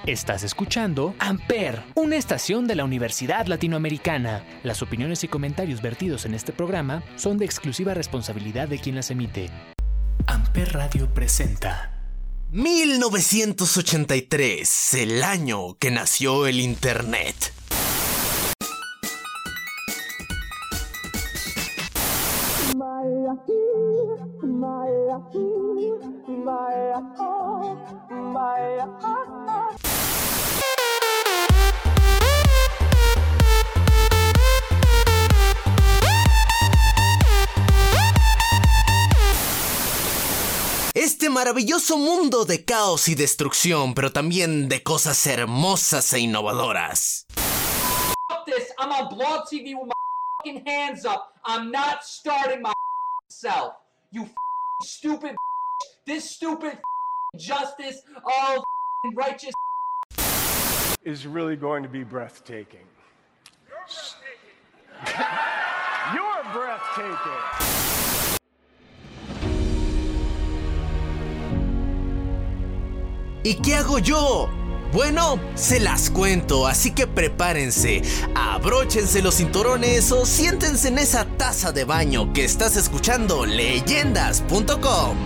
Estás escuchando Amper, una estación de la Universidad Latinoamericana. Las opiniones y comentarios vertidos en este programa son de exclusiva responsabilidad de quien las emite. Amper Radio presenta 1983, el año que nació el Internet. Este maravilloso mundo de caos y destrucción, pero también de cosas hermosas e innovadoras. I'm on Blog TV with my fucking hands up. I'm not starting myself. You stupid. This stupid justice of righteous is really going to be breathtaking. You're breathtaking. ¿Y qué hago yo? Bueno, se las cuento, así que prepárense, abróchense los cinturones o siéntense en esa taza de baño que estás escuchando Leyendas.com.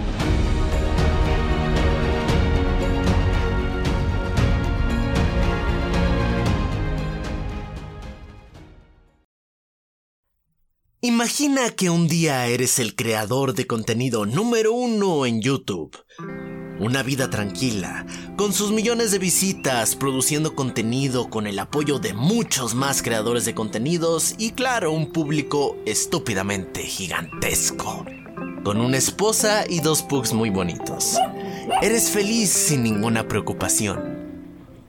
Imagina que un día eres el creador de contenido número 1 en YouTube. Una vida tranquila, con sus millones de visitas, produciendo contenido con el apoyo de muchos más creadores de contenidos y claro, un público estúpidamente gigantesco. Con una esposa y 2 pugs muy bonitos. Eres feliz sin ninguna preocupación.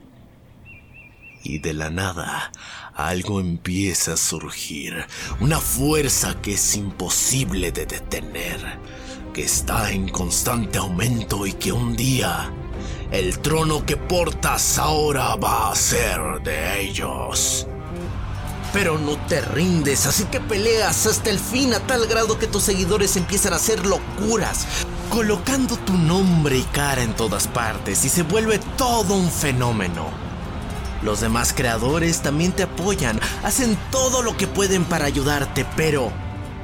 Y de la nada, algo empieza a surgir. Una fuerza que es imposible de detener, que está en constante aumento y que un día el trono que portas ahora va a ser de ellos. Pero no te rindes, así que peleas hasta el fin a tal grado que tus seguidores empiezan a hacer locuras, colocando tu nombre y cara en todas partes y se vuelve todo un fenómeno. Los demás creadores también te apoyan, hacen todo lo que pueden para ayudarte, pero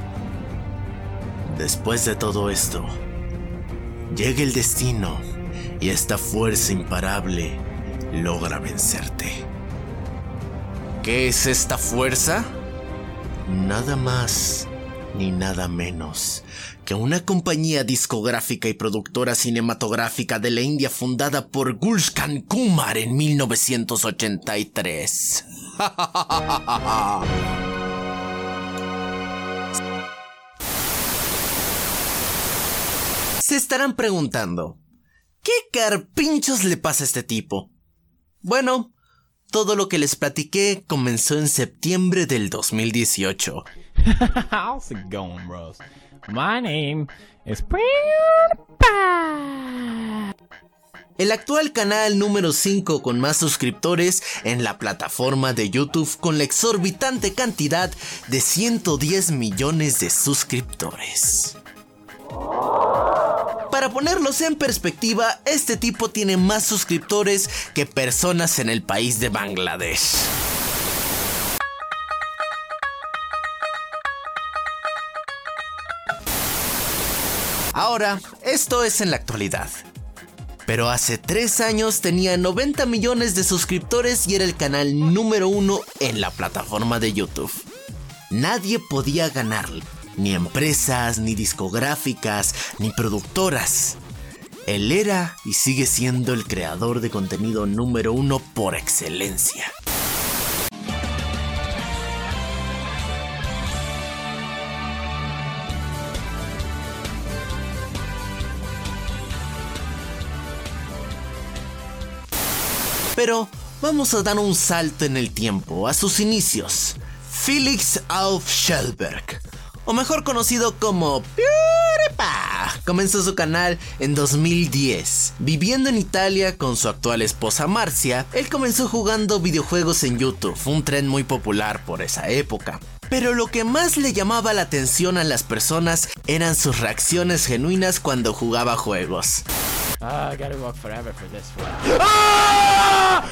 después de todo esto, llega el destino y esta fuerza imparable logra vencerte. ¿Qué es esta fuerza? Nada más ni nada menos que una compañía discográfica y productora cinematográfica de la India fundada por Gulshan Kumar en 1983. Se estarán preguntando, ¿qué carpinchos le pasa a este tipo? Bueno, todo lo que les platiqué comenzó en septiembre del 2018. How's it going, bros? My name is PewDiePie. El actual canal número 5 con más suscriptores en la plataforma de YouTube con la exorbitante cantidad de 110 millones de suscriptores. Para ponerlos en perspectiva, este tipo tiene más suscriptores que personas en el país de Bangladesh. Ahora, esto es en la actualidad. Pero hace 3 años tenía 90 millones de suscriptores y era el canal número 1 en la plataforma de YouTube. Nadie podía ganarle. Ni empresas, ni discográficas, ni productoras. Él era y sigue siendo el creador de contenido número 1 por excelencia. Pero vamos a dar un salto en el tiempo, a sus inicios. Felix Auf Schellberg, o mejor conocido como PewDiePie, comenzó su canal en 2010. Viviendo en Italia con su actual esposa Marcia, él comenzó jugando videojuegos en YouTube, un tren muy popular por esa época. Pero lo que más le llamaba la atención a las personas eran sus reacciones genuinas cuando jugaba juegos. I gotta walk forever for this one.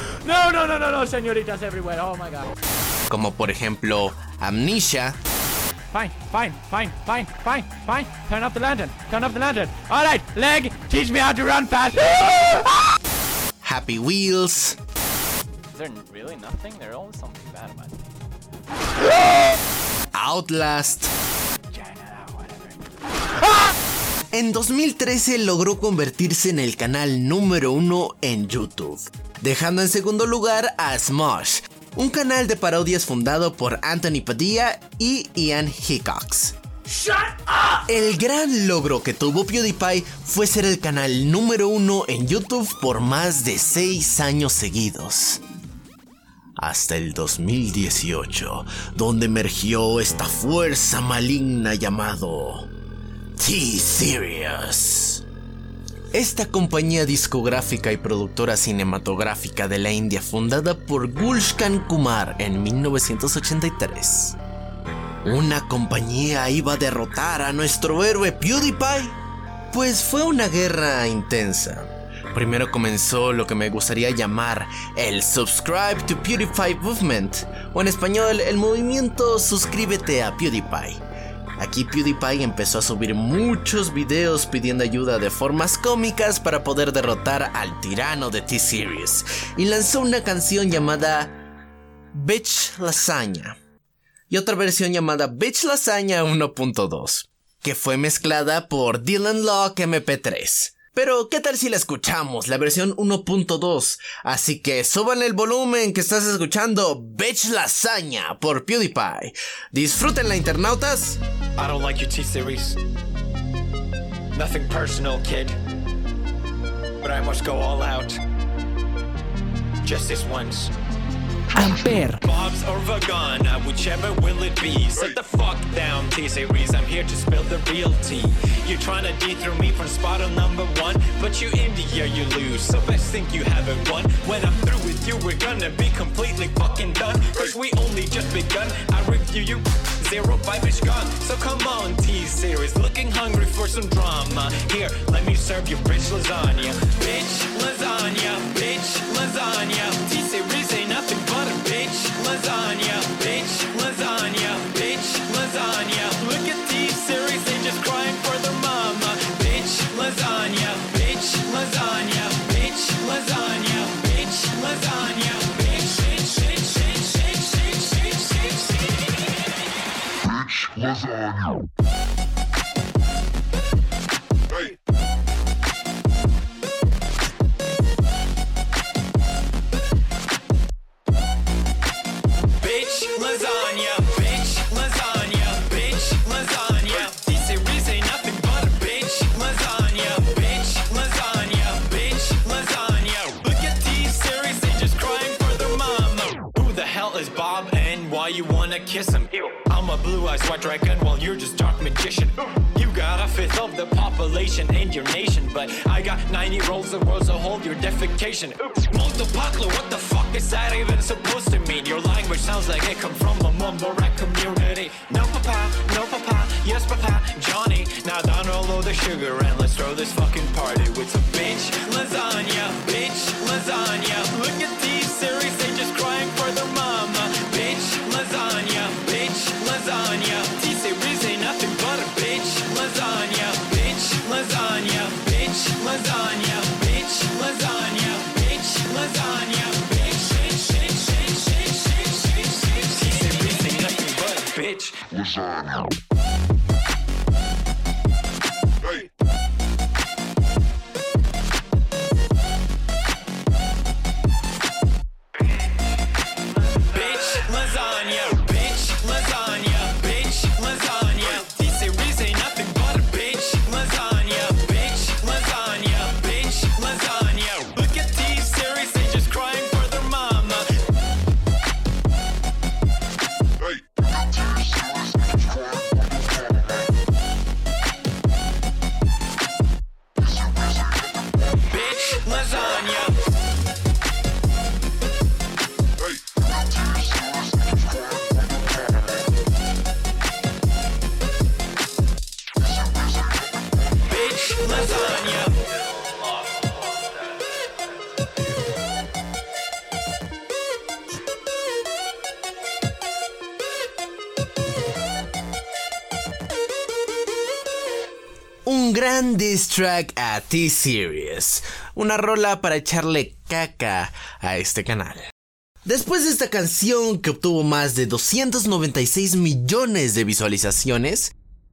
no, señoritas everywhere. Oh my god. como por ejemplo Amnesia, Fine. Turn off the lantern. Alright, leg, teach me how to run fast. Happy Wheels, Is there really nothing? There's always something bad about it. Outlast. En 2013 logró convertirse en el canal número 1 en YouTube, dejando en segundo lugar a Smosh, un canal de parodias fundado por Anthony Padilla y Ian Hickox. El gran logro que tuvo PewDiePie fue ser el canal número 1 en YouTube por más de 6 años seguidos. Hasta el 2018, donde emergió esta fuerza maligna llamado T-Series. Esta compañía discográfica y productora cinematográfica de la India, fundada por Gulshan Kumar en 1983. ¿Una compañía iba a derrotar a nuestro héroe PewDiePie? Pues fue una guerra intensa. Primero comenzó lo que me gustaría llamar el Subscribe to PewDiePie Movement, o en español el movimiento Suscríbete a PewDiePie. Aquí PewDiePie empezó a subir muchos videos pidiendo ayuda de formas cómicas para poder derrotar al tirano de T-Series, y lanzó una canción llamada Bitch Lasagna y otra versión llamada Bitch Lasagna 1.2, que fue mezclada por Dylan Locke MP3. Pero ¿qué tal si la escuchamos, la versión 1.2? Así que suban el volumen, que estás escuchando Bitch Lasagna por PewDiePie. Disfrútenla, internautas. I don't like your T-Series. Nothing personal, kid. But I must go all out. Just this once. Amper. Bob's or Vagana, whichever will it be. Sit the fuck down, T-Series. I'm here to spill the real tea. You're trying to dethrone me from spot on number 1, but you India, you lose. So best think you haven't won. When I'm through with you, we're gonna be completely fucking done. Cause we only just begun. I review you. 0-5 gone. So come on, T-Series. Looking hungry for some drama. Here, let me serve you bitch lasagna. Bitch lasagna. Bitch lasagna. T-Series ain't nothing but a bitch lasagna. Bitch lasagna. Bitch lasagna. Look at T-Series, they just crying for their mama. Bitch lasagna. Bitch lasagna. Bitch lasagna. Bitch lasagna. Bitch, bitch, bitch, bitch, bitch, bitch, bitch, bitch, bitch. Lasagna. Hey. Bitch lasagna, bitch lasagna, bitch lasagna. T-Series ain't nothing but a bitch lasagna, bitch lasagna, bitch lasagna. Look at T-Series, they just crying for their mama. Who the hell is Bob and why you wanna kiss him? Ew. I'm a blue-eyed white dragon while you're just dark magician. You got a fifth of the population in your nation, but I got 90 rolls of rose to hold your defecation. Multipatlo, what the fuck is that even supposed to mean? Your language sounds like it come from a mumble rap community. No papa, yes papa, Johnny. Now download the sugar and let's throw this fucking party with some bitch lasagna, bitch lasagna. Look at these series, they just crying for their mama. Bitch lasagna, bitch lasagna. T-Series ain't nothing but a bitch lasagna, bitch lasagna, bitch lasagna, bitch lasagna, bitch lasagna, bitch, bitch, bitch, bitch, bitch, bitch, bitch. T-Series ain't nothing but a bitch lasagna. Hey. Bitch lasagna, bitch lasagna, bitch lasagna. T-Series ain't nothing but a bitch lasagna, bitch lasagna, bitch lasagna. Look at T-Series, they just crying for their mama. Hey. gran diss track a T-Series, una rola para echarle caca a este canal. Después de esta canción, que obtuvo más de 296 millones de visualizaciones,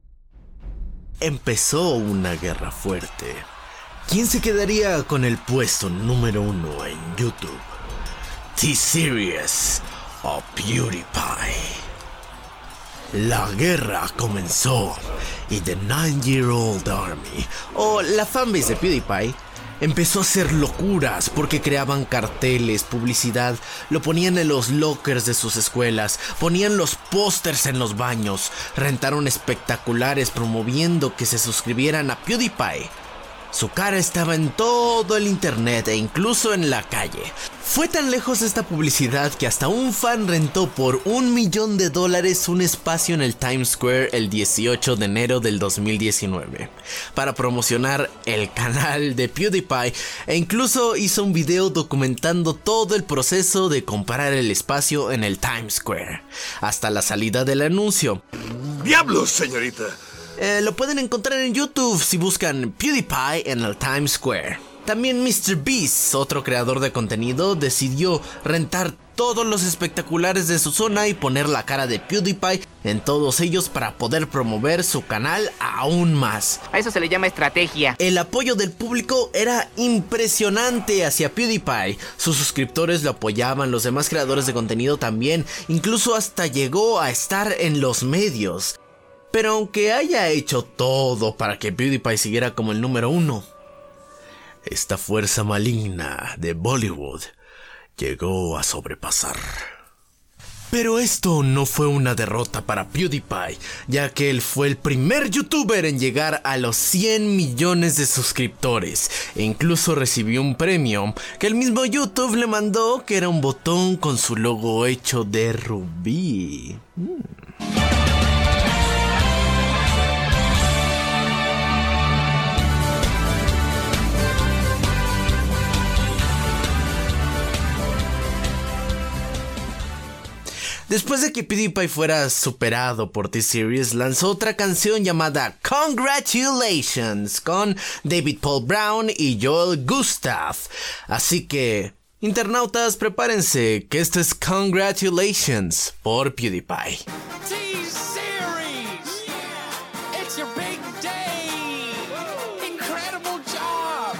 empezó una guerra fuerte. ¿Quién se quedaría con el puesto número 1 en YouTube? T-Series o PewDiePie. La guerra comenzó y The 9-Year-Old Army, o la fanbase de PewDiePie, empezó a hacer locuras porque creaban carteles, publicidad, lo ponían en los lockers de sus escuelas, ponían los pósters en los baños, rentaron espectaculares promoviendo que se suscribieran a PewDiePie. Su cara estaba en todo el internet e incluso en la calle. Fue tan lejos esta publicidad que hasta un fan rentó por $1 millón un espacio en el Times Square el 18 de enero del 2019 para promocionar el canal de PewDiePie, e incluso hizo un video documentando todo el proceso de comprar el espacio en el Times Square hasta la salida del anuncio. ¡Diablos, señorita! Lo pueden encontrar en YouTube si buscan PewDiePie en el Times Square. También MrBeast, otro creador de contenido, decidió rentar todos los espectaculares de su zona y poner la cara de PewDiePie en todos ellos para poder promover su canal aún más. A eso se le llama estrategia. El apoyo del público era impresionante hacia PewDiePie. Sus suscriptores lo apoyaban, los demás creadores de contenido también, incluso hasta llegó a estar en los medios. Pero aunque haya hecho todo para que PewDiePie siguiera como el número 1, esta fuerza maligna de Bollywood llegó a sobrepasar. Pero esto no fue una derrota para PewDiePie, ya que él fue el primer youtuber en llegar a los 100 millones de suscriptores, e incluso recibió un premio que el mismo YouTube le mandó, que era un botón con su logo hecho de rubí. Después de que PewDiePie fuera superado por T-Series, lanzó otra canción llamada Congratulations con David Paul Brown y Joel Gustav. Así que, internautas, prepárense, que esto es Congratulations por PewDiePie. T-Series! It's your big day! Incredible job!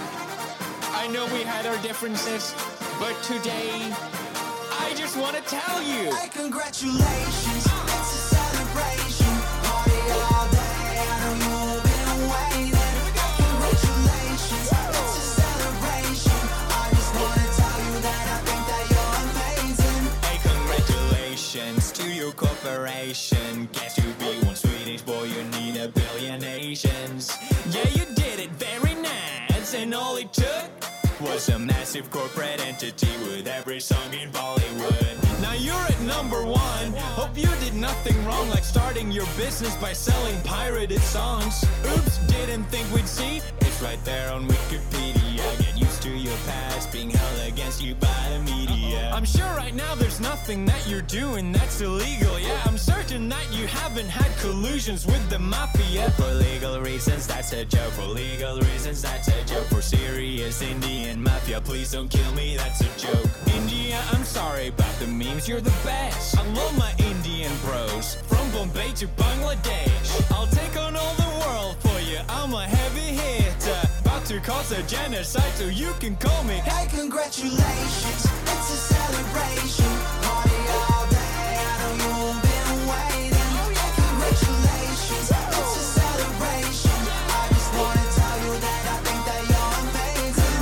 I know we had our differences, but today I just want to tell you. Hey, congratulations, it's a celebration. Party all day, I know you've been waiting. Congratulations, it's a celebration. I just want to tell you that I think that you're amazing. Hey, congratulations to your corporation. Guess you be one Swedish boy, you need a billion Asians. Yeah, you did it very nice, and all it took was a massive corporate entity with every song in Bollywood. Now you're at number 1. Hope you did nothing wrong, like starting your business by selling pirated songs. Oops, didn't think we'd see. It's right there on Wikipedia. Get used to your past being held against you by the media. I'm sure right now there's nothing that you're doing that's illegal. Yeah, I'm certain that you haven't had collusions with the mafia. For legal reasons, that's a joke. For legal reasons, that's a joke. For serious Indian mafia, please don't kill me, that's a joke. India, I'm sorry about the memes, you're the best. I love my Indian bros, from Bombay to Bangladesh. I'll take on all the world for you, I'm a heavy hitter. About to cause a genocide, so you can call me. Hey, congratulations, it's a celebration. Party all day, I know you've been waiting. Congratulations, it's a celebration. I just want to tell you that I think that you're amazing.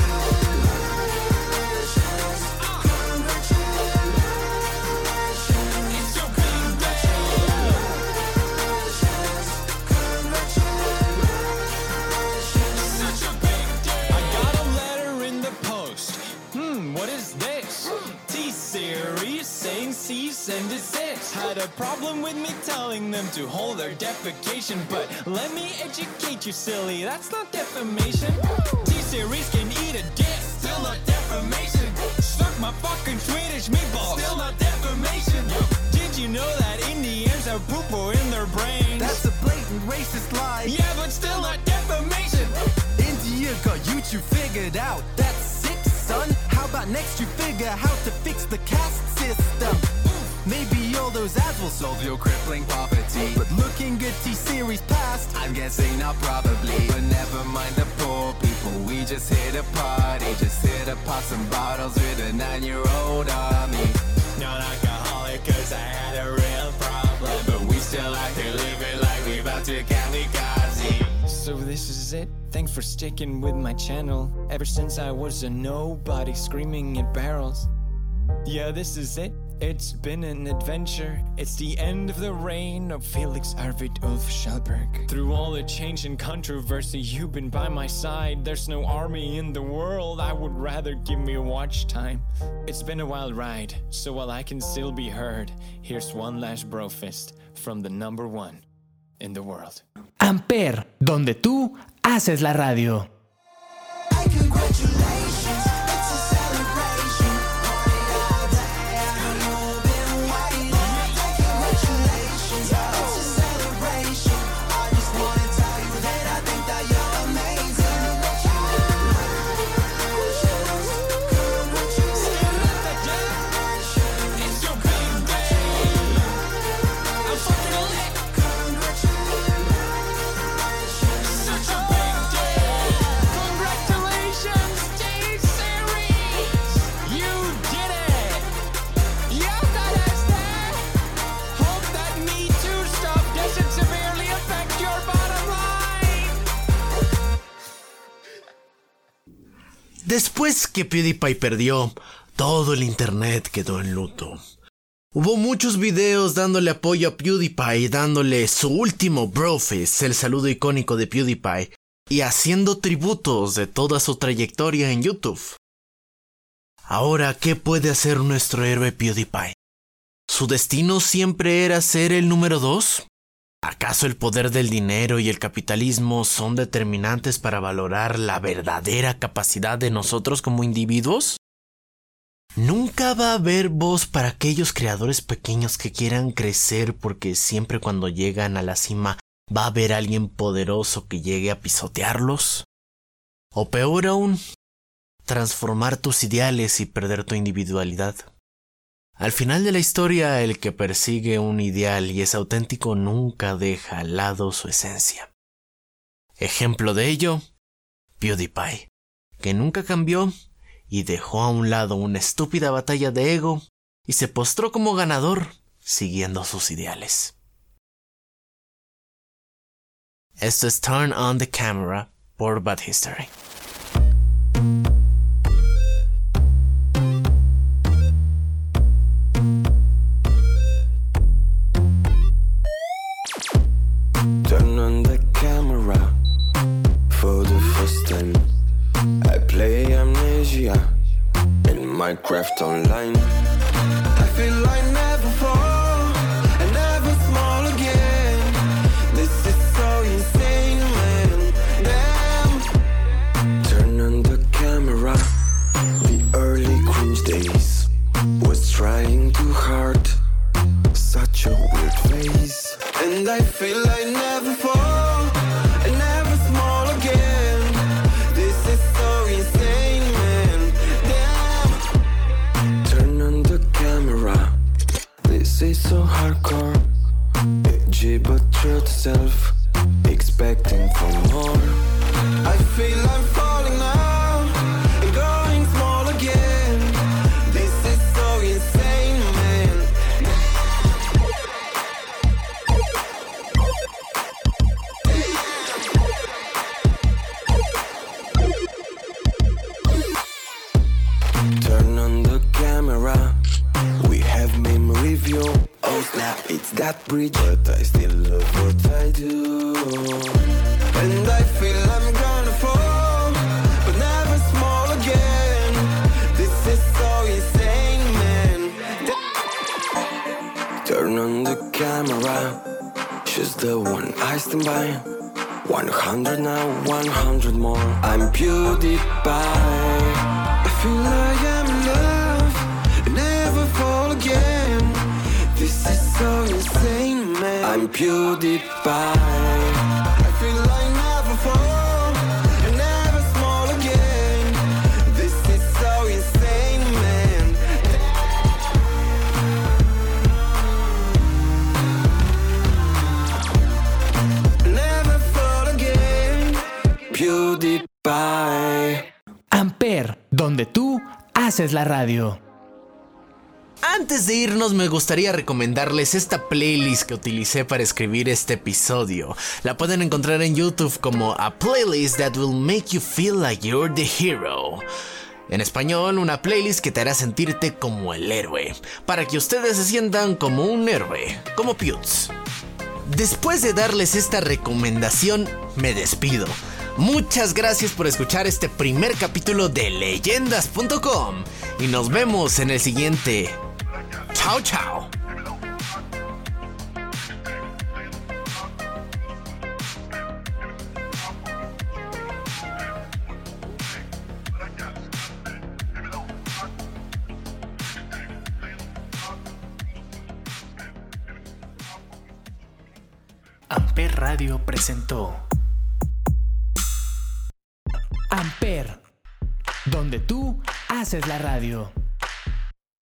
Congratulations, congratulations. It's your big day. Congratulations. Such a big day. I got a letter in the post. What is this? T-Series saying cease and desist. Had a problem with me telling them to hold their defecation, but let me educate you, silly, that's not defamation. T-Series can eat a dick, still not defamation. Suck my fucking Swedish meatballs, still not defamation. Did you know that Indians have poo-poo in their brains? That's a blatant racist lie. Yeah, but still not defamation. you figured out. That's sick, son. How about next you figure how to fix the caste system? Maybe all those ads will solve your crippling poverty. But looking at T-Series past, I'm guessing not probably. But never mind the poor people, we just here to party. Just here to pop some bottles with a 9-year-old army. Not alcoholic cause I had a real problem, but we still like to live it like we about to kamikaze. So this is it, thanks for sticking with my channel. Ever since I was a nobody screaming at barrels. Yeah, this is it. It's been an adventure. It's the end of the reign of Felix Arvid Ulf Schallberg. Through all the change and controversy, you've been by my side. There's no army in the world. I would rather give me watch time. It's been a wild ride, so while I can still be heard, here's one last brofist from the number one in the world. Amper, donde tú haces la radio. Después que PewDiePie perdió, todo el internet quedó en luto. Hubo muchos videos dándole apoyo a PewDiePie, dándole su último brofist, el saludo icónico de PewDiePie, y haciendo tributos de toda su trayectoria en YouTube. Ahora, ¿qué puede hacer nuestro héroe PewDiePie? ¿Su destino siempre era ser el número 2? ¿Acaso el poder del dinero y el capitalismo son determinantes para valorar la verdadera capacidad de nosotros como individuos? Nunca va a haber voz para aquellos creadores pequeños que quieran crecer, porque siempre cuando llegan a la cima va a haber alguien poderoso que llegue a pisotearlos. O peor aún, transformar tus ideales y perder tu individualidad. Al final de la historia, el que persigue un ideal y es auténtico nunca deja al lado su esencia. Ejemplo de ello, PewDiePie, que nunca cambió y dejó a un lado una estúpida batalla de ego y se postró como ganador, siguiendo sus ideales. Esto es Turn on the Camera por Bad History. Turn on the camera for the first time. I play Amnesia in Minecraft Online. I feel like never fall and never small again. This is so insane, man. Damn. Turn on the camera. The early cringe days was trying too hard. Such a weird face. And I feel like never fall and never small again. This is so insane, man. Damn. Turn on the camera. This is so hardcore. Edgy but true to self. Expecting for more. I feel I'm falling now and going small again. This is so insane, man. Turn on the camera. We have meme review. Oh snap, it's that bridge, but I still love what I do. And I feel I'm gonna fall, but never small again. This is so insane, man. Turn on the camera. She's the one I stand by. 100 now, 100 more. I'm PewDiePie. I feel like I'm in love and never fall again. This is so insane, man. I'm PewDiePie. I feel like never fall and never small again. donde tú haces la radio. Antes de irnos me gustaría recomendarles esta playlist que utilicé para escribir este episodio. La pueden encontrar en YouTube como A Playlist That Will Make You Feel Like You're the Hero. En español, una playlist que te hará sentirte como el héroe, para que ustedes se sientan como un héroe, como Piutz. Después de darles esta recomendación, me despido. Muchas gracias por escuchar este primer capítulo de Leyendas.com y nos vemos en el siguiente. Chao, chao. Amper Radio presentó Amper, donde tú haces la radio.